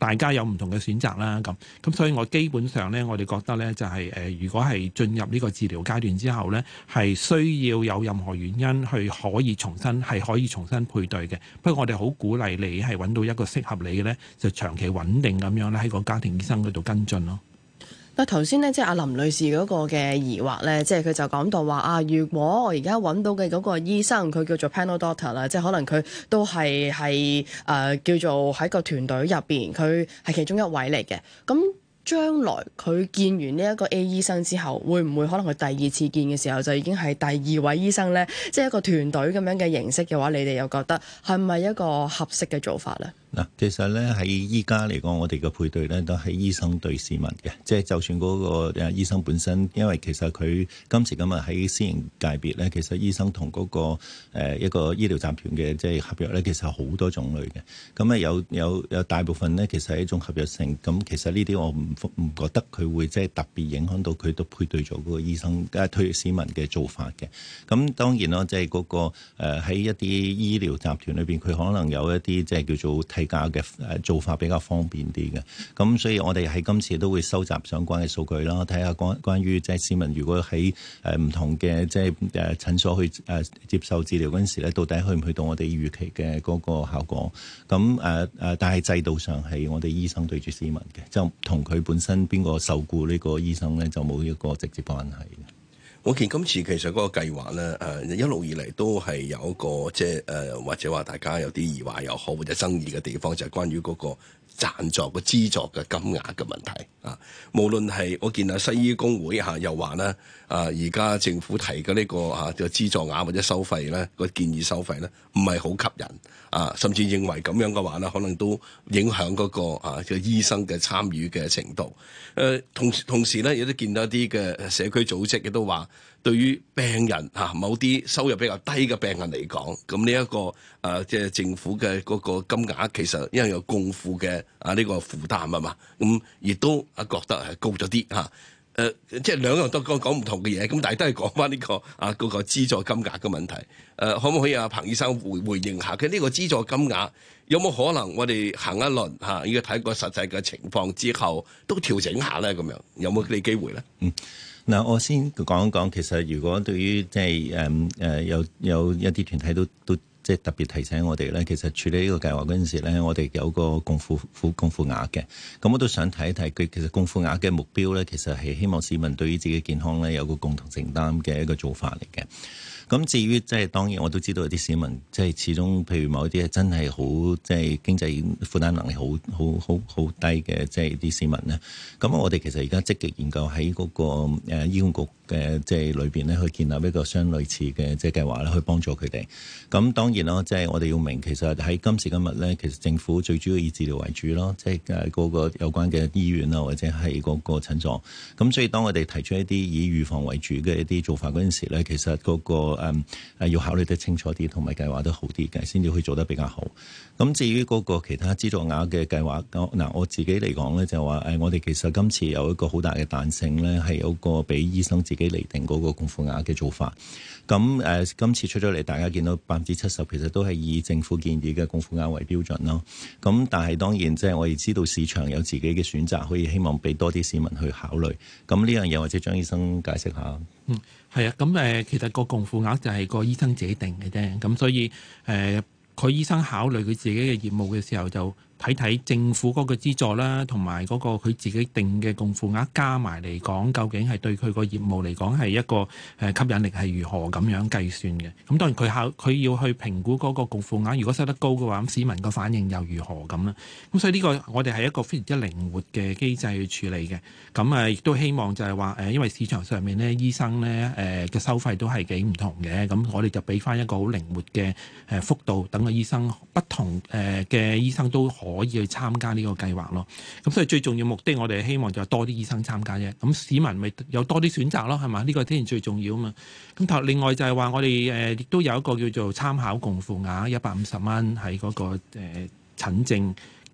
E: 大家有唔同嘅選擇啦。咁咁所以我基本上咧，我哋覺得咧就係、是、誒、呃，如果係進入呢個治療階段之後咧，係需要有任何原因去可以重新係可以重新配對嘅。不過我哋好鼓勵你係揾到一個適合你嘅咧，就長期穩定咁樣咧喺個家庭醫生嗰度跟進咯。
B: 但頭先咧，即係阿林女士嗰個嘅疑惑咧，即係佢就講到話啊，如果我而家揾到嘅嗰個醫生，佢叫做 panel doctor 啦，即係可能佢都係係誒叫做喺個團隊入邊，佢係其中一位嚟嘅。咁將來佢見完呢一個 A 醫生之後，會唔會可能佢第二次見嘅時候就已經係第二位醫生咧？即係一個團隊咁樣嘅形式嘅話，你哋又覺得係咪一個合適嘅做法咧？
D: 嗱，其實咧喺依家嚟講，我哋嘅配對咧都係醫生對市民嘅，即係就算嗰個誒醫生本身，因為其實佢今時今日喺私營界別咧，其實醫生同嗰個誒一個醫療集團嘅即係合約咧，其實好多種類嘅。咁啊有有有大部分咧，其實係一種合約性。咁其實呢啲我唔唔覺得佢會即係特別影響到佢都配對咗嗰個醫生誒推市民嘅做法嘅。咁當然咯，即係嗰個誒喺一啲醫療集團裏邊，佢可能有一啲即係叫做替價嘅誒做法比較方便啲嘅。咁所以我哋喺今次都會收集相關嘅數據啦，睇下關關於即係市民如果喺誒唔同嘅即係誒診所去誒接受治療嗰陣時咧，到底去唔去到我哋預期嘅嗰個效果？咁誒誒，但係制度上係我哋醫生對住市民嘅，就同佢本身邊個受僱呢個醫生咧，就冇一個直接關係嘅。
C: 我見今次其實嗰個計劃咧，誒、呃、一路以嚟都係有一個即係誒或者話大家有啲疑惑又好或者爭議嘅地方，就係、是、關於嗰個贊助個資助嘅金額嘅問題啊。無論係我見啊西醫工會嚇、啊、又話咧，啊而家政府提嘅呢、這個嚇嘅資助額或者收費咧，個建議收費咧唔係好吸引啊，甚至認為咁樣嘅話咧，可能都影響嗰、那個啊嘅醫生嘅參與嘅程度。誒、啊、同同時咧，亦都見到一啲嘅社區組織亦都話，對於病人嚇、啊、某啲收入比較低嘅病人嚟講，咁呢一個誒、啊、即係政府嘅嗰個金額，其實因為有共付嘅啊呢、這個負擔啊嘛，咁亦都啊覺得係高咗啲嚇。誒、啊、即係兩樣都講講唔同嘅嘢，咁但係都係講翻呢個啊嗰、那個資助金額嘅問題。誒、啊、可唔可以啊彭醫生回回應下佢呢個資助金額有冇可能我哋行一輪嚇，要睇個實際嘅情況之後都調整下咧？咁樣有冇呢機會咧？
D: 嗯。嗱，我先講一講，其實如果對於即係誒誒有有一啲團體都都即係特別提醒我哋咧，其實處理呢個計劃嗰陣時咧，我哋有個共付付共付額嘅。咁我都想睇一睇佢其實共付額嘅目標咧，其實係希望市民對於自己健康咧有個共同承擔嘅一個做法嚟嘅。咁至於即係當然我都知道有啲市民即係始終譬如某啲係真係好即係經濟負擔能力好好好好低嘅即係啲市民咧，咁我哋其實而家積極研究喺嗰個誒醫管局嘅即係裏邊咧去建立一個相類似嘅即係計劃咧，去幫助佢哋。咁當然啦，即係我哋要明，其實喺今時今日咧，其實政府最主要以治療為主咯，即係誒嗰個有關嘅醫院啊，或者係嗰個診所。咁所以當我哋提出一啲以預防為主嘅一啲做法嗰陣時咧，其實嗰個誒誒、嗯、要考慮得清楚啲，同埋計劃得好啲嘅，先至可以做得比較好。咁至於嗰個其他資助額嘅計劃，嗱我自己嚟講咧，就話誒，我哋其實今次有一個好大嘅彈性咧，係有個俾醫生自己釐定嗰個共付額嘅做法。咁誒、呃，今次出咗嚟，大家見到百分之七十其實都係以政府建議嘅共付額為標準咯。咁但係當然即係我哋知道市場有自己嘅選擇，可以希望俾多啲市民去考慮。咁呢樣嘢或者張醫生解釋下。
E: 嗯，係啊，咁誒，其實個共付額就係個醫生自己定嘅啫。咁所以誒，佢、呃、醫生考慮佢自己嘅業務嘅時候，就睇睇政府嗰個資助啦，同埋嗰個佢自己定嘅共付額加埋嚟講，究竟係對佢個業務嚟講係一個誒吸引力係如何咁樣計算嘅。咁當然佢考佢要去評估嗰個共付額，如果收得高嘅話，咁市民個反應又如何咁啦。咁所以呢個我哋係一個非常之靈活嘅機制去處理嘅。咁誒亦都希望就係話誒，因為市場上面咧醫生咧誒嘅收費都係幾唔同嘅，咁我哋就俾翻一個好靈活嘅誒幅度，等個醫生不同誒嘅醫生都可以去參加呢個計劃咯。咁所以最重要目的，我哋希望就係多啲醫生參加啫。咁市民咪有多啲選擇咯，係嘛？呢個當然最重要啊嘛。咁頭另外就係話，我哋誒亦都有一個叫做參考共付額一百五十蚊喺嗰個誒診症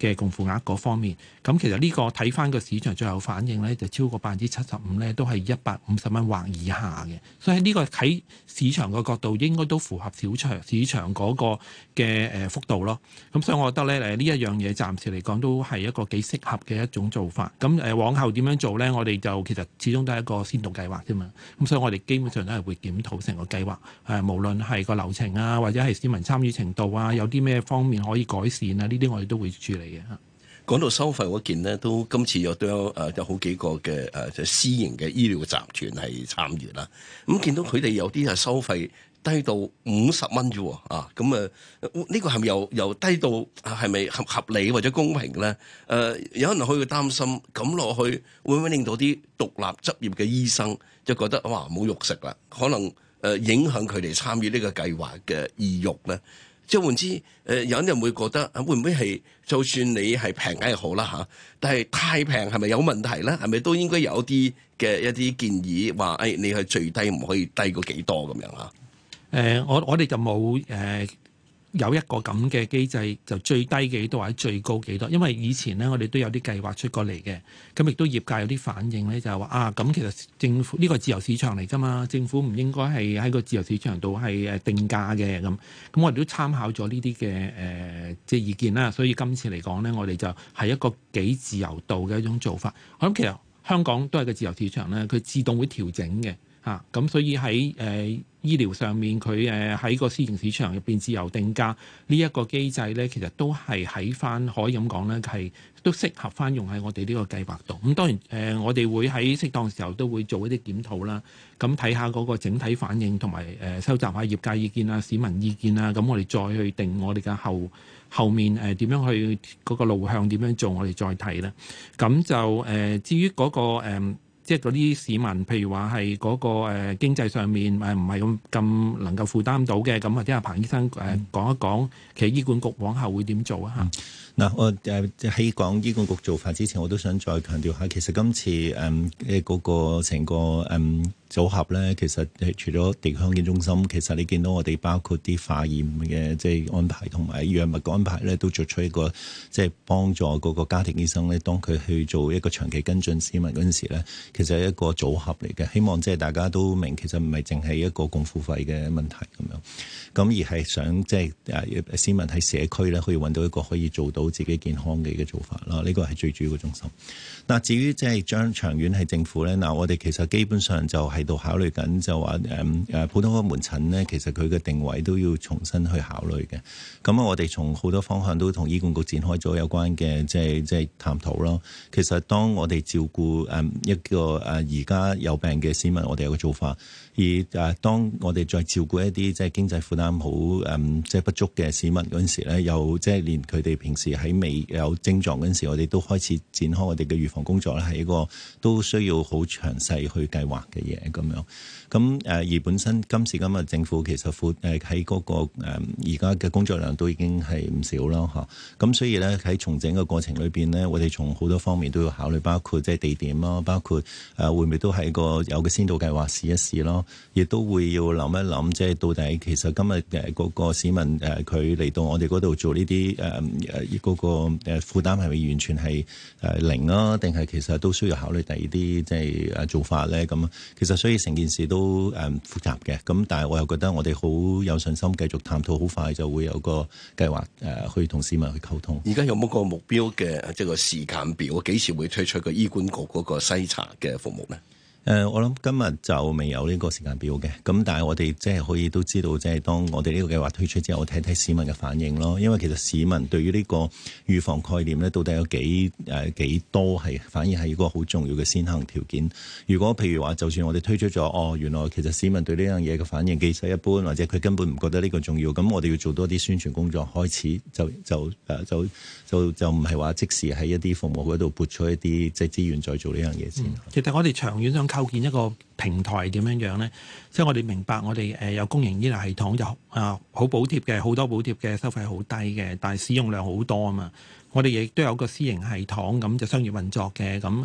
E: 嘅共付額嗰方面。咁其實呢個睇翻個市場最後反應咧，就超過百分之七十五咧，都係一百五十蚊或以下嘅。所以呢個喺市場個角度應該都符合市場市場嗰個嘅誒幅度咯。咁所以我覺得咧誒呢一樣嘢暫時嚟講都係一個幾適合嘅一種做法。咁誒往後點樣做咧？我哋就其實始終都係一個先導計劃啫嘛。咁所以我哋基本上都係會檢討成個計劃，誒無論係個流程啊，或者係市民參與程度啊，有啲咩方面可以改善啊，呢啲我哋都會處理嘅嚇。
C: 講到收費嗰件呢，都今次又都有誒有好幾個嘅誒就私營嘅醫療集團係參與啦。咁見到佢哋有啲係收費低到五十蚊啫喎，啊咁啊呢個係咪又又低到係咪合合理或者公平咧？誒、呃、有人可以擔心咁落去會唔會令到啲獨立執業嘅醫生就覺得哇冇肉食啦，可能誒、呃、影響佢哋參與呢個計劃嘅意欲咧？即係換之，誒、呃、有人會覺得會唔會係就算你係平梗係好啦嚇，但係太平係咪有問題咧？係咪都應該有啲嘅一啲建議話誒、哎、你係最低唔可以低過幾多咁樣啊？
E: 誒、呃，我我哋就冇誒、呃、有一個咁嘅機制，就最低幾多或者最高幾多？因為以前咧，我哋都有啲計劃出過嚟嘅，咁亦都業界有啲反應咧，就係話啊，咁其實政府呢、呢個自由市場嚟㗎嘛，政府唔應該係喺個自由市場度係誒定價嘅咁。咁我哋都參考咗呢啲嘅誒即係意見啦，所以今次嚟講咧，我哋就係一個幾自由度嘅一種做法。我諗其實香港都係個自由市場咧，佢自動會調整嘅。啊，咁所以喺誒、呃、醫療上面，佢誒喺個私營市場入邊自由定價呢一個機制咧，其實都係喺翻可以咁講咧，係都適合翻用喺我哋呢個計劃度。咁、嗯、當然誒、呃，我哋會喺適當時候都會做一啲檢討啦。咁睇下嗰個整體反應，同埋誒收集下業界意見啊、市民意見啊。咁我哋再去定我哋嘅後後面誒點、呃、樣去嗰個路向點樣做，我哋再睇啦。咁就誒、呃、至於嗰、嗰個、呃即係嗰啲市民，譬如話係嗰個誒、呃、經濟上面誒唔係咁咁能夠負擔到嘅，咁或者阿彭醫生誒、呃、講一講，其實醫管局往後會點做啊？嚇、嗯！
D: 嗱，我誒喺講醫管局做法之前，我都想再強調下，其實今次誒嘅嗰個成個誒、嗯、組合咧，其實係除咗地區康健中心，其實你見到我哋包括啲化驗嘅即係安排同埋藥物嘅安排咧，都作出一個即係幫助嗰個家庭醫生咧，當佢去做一個長期跟進市民嗰陣時咧，其實係一個組合嚟嘅。希望即係大家都明，其實唔係淨係一個共付費嘅問題咁樣，咁而係想即係誒市民喺社區咧可以揾到一個可以做到自己健康嘅嘅做法啦，呢個係最主要嘅中心。嗱，至於即係將長遠係政府咧，嗱我哋其實基本上就喺度考慮緊，就話誒誒普通科門診咧，其實佢嘅定位都要重新去考慮嘅。咁啊，我哋從好多方向都同醫管局展開咗有關嘅即係即係探討咯。其實當我哋照顧誒一個誒而家有病嘅市民，我哋有個做法。而誒，當我哋再照顧一啲即係經濟負擔好誒，即係不足嘅市民嗰陣時咧，又即係連佢哋平時喺未有症狀嗰陣時，我哋都開始展開我哋嘅預防工作咧，係一個都需要好詳細去計劃嘅嘢咁樣。咁誒而本身今時今日政府其實負誒喺嗰個誒而家嘅工作量都已經係唔少啦嚇。咁所以咧喺重整嘅過程裏邊咧，我哋從好多方面都要考慮，包括即係地點啦，包括誒會唔會都係個有個先導計劃試一試咯。亦都會要諗一諗，即係到底其實今日誒嗰個市民誒佢嚟到我哋嗰度做呢啲誒誒嗰個誒負擔係咪完全係誒零啊？定係其實都需要考慮第二啲即係誒做法咧？咁其實所以成件事都誒複雜嘅。咁但係我又覺得我哋好有信心繼續探討，好快就會有個計劃誒去同市民去溝通。
C: 而家有冇個目標嘅即係個時間表？幾時會推出個醫管局嗰個篩查嘅服務咧？
D: 誒、呃，我諗今日就未有呢個時間表嘅，咁但係我哋即係可以都知道，即係當我哋呢個計劃推出之後，我睇睇市民嘅反應咯。因為其實市民對於呢個預防概念咧，到底有幾誒、呃、幾多係反而係一個好重要嘅先行條件。如果譬如話，就算我哋推出咗，哦，原來其實市民對呢樣嘢嘅反應幾細一般，或者佢根本唔覺得呢個重要，咁我哋要做多啲宣傳工作，開始就就誒、呃、就就就唔係話即時喺一啲服務嗰度撥出一啲即係資源再做呢樣嘢先、嗯。
E: 其實我哋長遠想構建一個平台點樣樣咧？即係我哋明白，我哋誒有公營醫療系統，有啊好補貼嘅，好多補貼嘅，收費好低嘅，但係使用量好多啊嘛。我哋亦都有個私營系統，咁就商業運作嘅，咁誒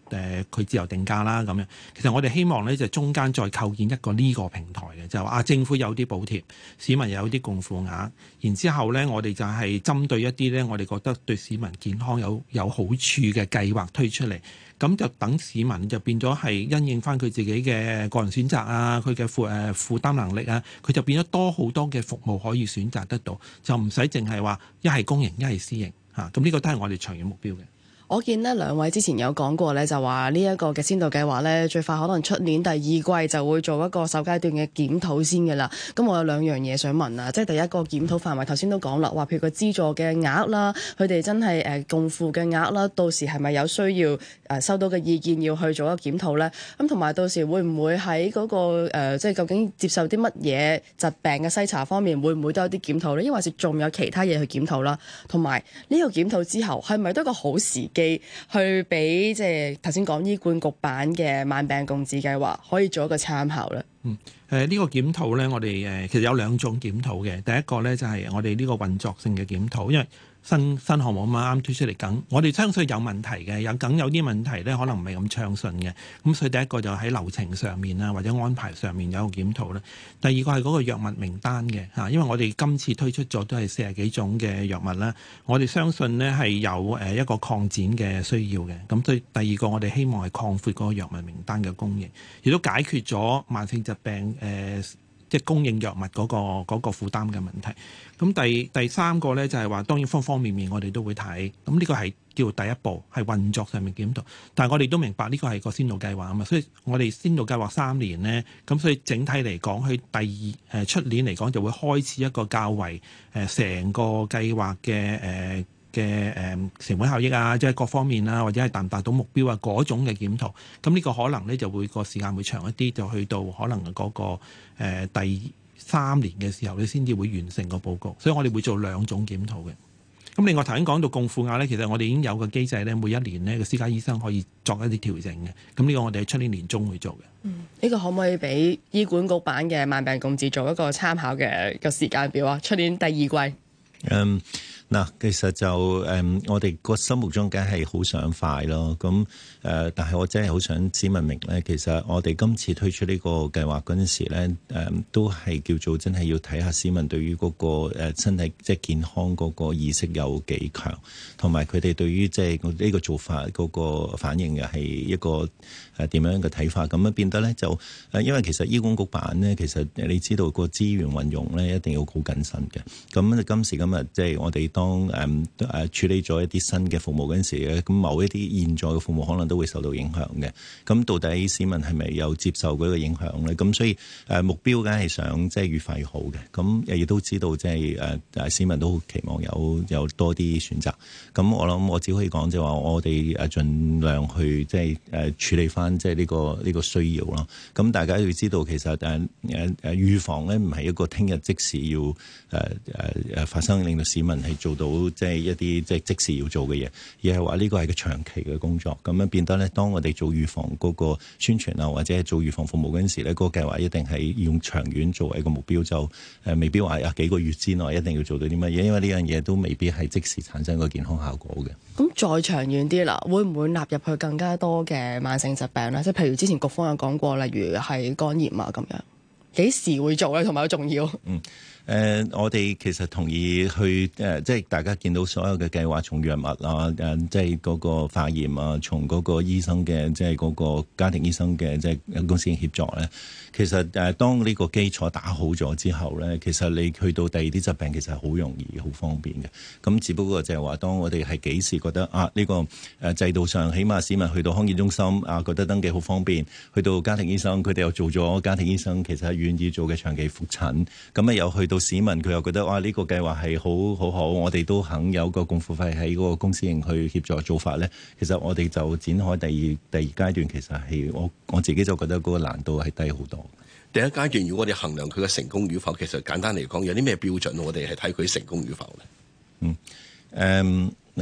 E: 誒佢自由定價啦咁樣。其實我哋希望咧就中間再構建一個呢個平台嘅，就係話啊政府有啲補貼，市民又有啲共付額，然之後咧我哋就係針對一啲咧我哋覺得對市民健康有有好處嘅計劃推出嚟。咁就等市民就變咗係因應翻佢自己嘅個人選擇啊，佢嘅負誒負擔能力啊，佢就變咗多好多嘅服務可以選擇得到，就唔使淨係話一係公營一係私營嚇。咁呢個都係我哋長遠目標嘅。
B: 我見呢兩位之前有講過咧，就話呢一個嘅先導計劃咧，最快可能出年第二季就會做一個首階段嘅檢討先嘅啦。咁我有兩樣嘢想問啊，即係第一個檢討範圍，頭先都講啦，話譬如個資助嘅額啦，佢哋真係誒共付嘅額啦，到時係咪有需要誒收到嘅意見要去做一個檢討咧？咁同埋到時會唔會喺嗰、那個、呃、即係究竟接受啲乜嘢疾病嘅篩查方面，會唔會都有啲檢討咧？抑或是仲有其他嘢去檢討啦？同埋呢個檢討之後，係咪都一個好時機？去俾即係頭先講醫管局版嘅慢病共治計劃可以做一個參考咧。
E: 嗯，誒、呃、呢、這個檢討咧，我哋誒、呃、其實有兩種檢討嘅。第一個咧就係、是、我哋呢個運作性嘅檢討，因為新新項目啱啱推出嚟緊，我哋相信有問題嘅，有梗有啲問題咧，可能唔係咁暢順嘅。咁所以第一個就喺流程上面啊，或者安排上面有個檢討啦。第二個係嗰個藥物名單嘅嚇，因為我哋今次推出咗都係四十幾種嘅藥物啦，我哋相信呢係有誒一個擴展嘅需要嘅。咁所以第二個我哋希望係擴闊嗰個藥物名單嘅供應，亦都解決咗慢性疾病誒。呃即係供應藥物嗰、那個嗰、那個負擔嘅問題。咁第第三個咧就係、是、話，當然方方面面我哋都會睇。咁呢個係叫第一步，係運作上面檢討。但係我哋都明白呢個係個先導計劃啊嘛，所以我哋先導計劃三年呢，咁所以整體嚟講，佢第二誒出年嚟講就會開始一個較為誒成、呃、個計劃嘅誒。呃嘅誒成本效益啊，即係各方面啊，或者係達唔達到目標啊嗰種嘅檢討，咁呢個可能咧就會個時間會長一啲，就去到可能嗰、那個、呃、第三年嘅時候，你先至會完成個報告。所以我哋會做兩種檢討嘅。咁另外頭先講到共付額咧，其實我哋已經有個機制咧，每一年呢個私家醫生可以作一啲調整嘅。咁呢個我哋喺出年年中會做嘅。
B: 嗯，呢、這個可唔可以俾醫管局版嘅慢病共治做一個參考嘅個時間表啊？出年第二季。
D: 嗯。嗱，其實就誒、嗯，我哋個心目中梗係好想快咯。咁誒、呃，但係我真係好想市民明咧，其實我哋今次推出呢個計劃嗰陣時咧，誒、嗯、都係叫做真係要睇下市民對於嗰個誒身體即係健康嗰個意識有幾強，同埋佢哋對於即係呢個做法嗰個反應嘅係一個誒點樣嘅睇法。咁樣變得咧就誒，因為其實醫管局版咧，其實你知道個資源運用咧一定要好謹慎嘅。咁今時今日即係我哋當誒誒處理咗一啲新嘅服務嗰陣時咧，咁某一啲現在嘅服務可能都會受到影響嘅。咁到底市民係咪有接受嗰個影響咧？咁所以誒目標梗係想即係越快越好嘅。咁亦都知道即係誒誒市民都好期望有有多啲選擇。咁我諗我只可以講就係話我哋誒盡量去即係誒處理翻即係呢個呢個需要咯。咁大家要知道其實誒誒誒預防咧唔係一個聽日即時要誒誒誒發生，令到市民係做到即係一啲即係即時要做嘅嘢，而係話呢個係個長期嘅工作。咁樣變得咧，當我哋做預防嗰個宣傳啊，或者係做預防服務嗰陣時咧，嗰、嗰個計劃一定係用長遠作為一個目標，就誒未必話啊幾個月之內一定要做到啲乜嘢，因為呢樣嘢都未必係即時產生個健康效果嘅。
B: 咁再長遠啲啦，會唔會納入去更加多嘅慢性疾病咧？即係譬如之前局方有講過，例如係肝炎啊咁樣，幾時會做咧？同埋好重要。嗯。
D: 誒、呃，我哋其實同意去誒、呃，即係大家見到所有嘅計劃，從藥物啊，誒、呃，即係嗰個化驗啊，從嗰個醫生嘅，即係嗰個家庭醫生嘅，即係公私營協作咧。其實誒、呃，當呢個基礎打好咗之後咧，其實你去到第二啲疾病，其實係好容易、好方便嘅。咁只不過就係話，當我哋係幾時覺得啊，呢、這個誒制度上，起碼市民去到康健中心啊，覺得登記好方便；去到家庭醫生，佢哋又做咗家庭醫生，其實係願意做嘅長期覆診。咁啊，又去到市民佢又覺得哇，呢、這個計劃係好好好，我哋都肯有個共付費喺嗰個公私營去協助做法咧。其實我哋就展開第二第二階段，其實係我我自己就覺得嗰個難度係低好多。
C: 第一階段，如果我哋衡量佢嘅成功與否，其實簡單嚟講，有啲咩標準我哋係睇佢成功與否咧？
D: 嗯，誒、嗯、誒。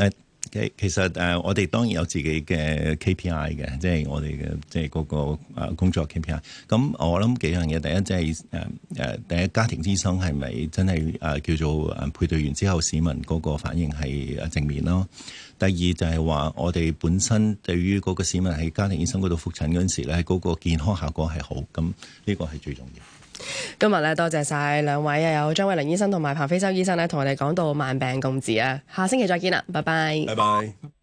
D: 其其實誒、呃，我哋當然有自己嘅 K P I 嘅，即係我哋嘅即係嗰個誒工作 K P I。咁我諗幾樣嘢，第一即係誒誒，第一家庭醫生係咪真係誒、呃、叫做誒配對完之後市民嗰個反應係誒正面咯？第二就係話我哋本身對於嗰個市民喺家庭醫生嗰度覆診嗰陣時咧，嗰、嗰個健康效果係好，咁呢個係最重要。
B: 今日咧多謝晒兩位啊，有張偉麟醫生同埋彭飛舟醫生咧，同我哋講到慢病共治啊，下星期再見啦，拜拜。
C: 拜拜。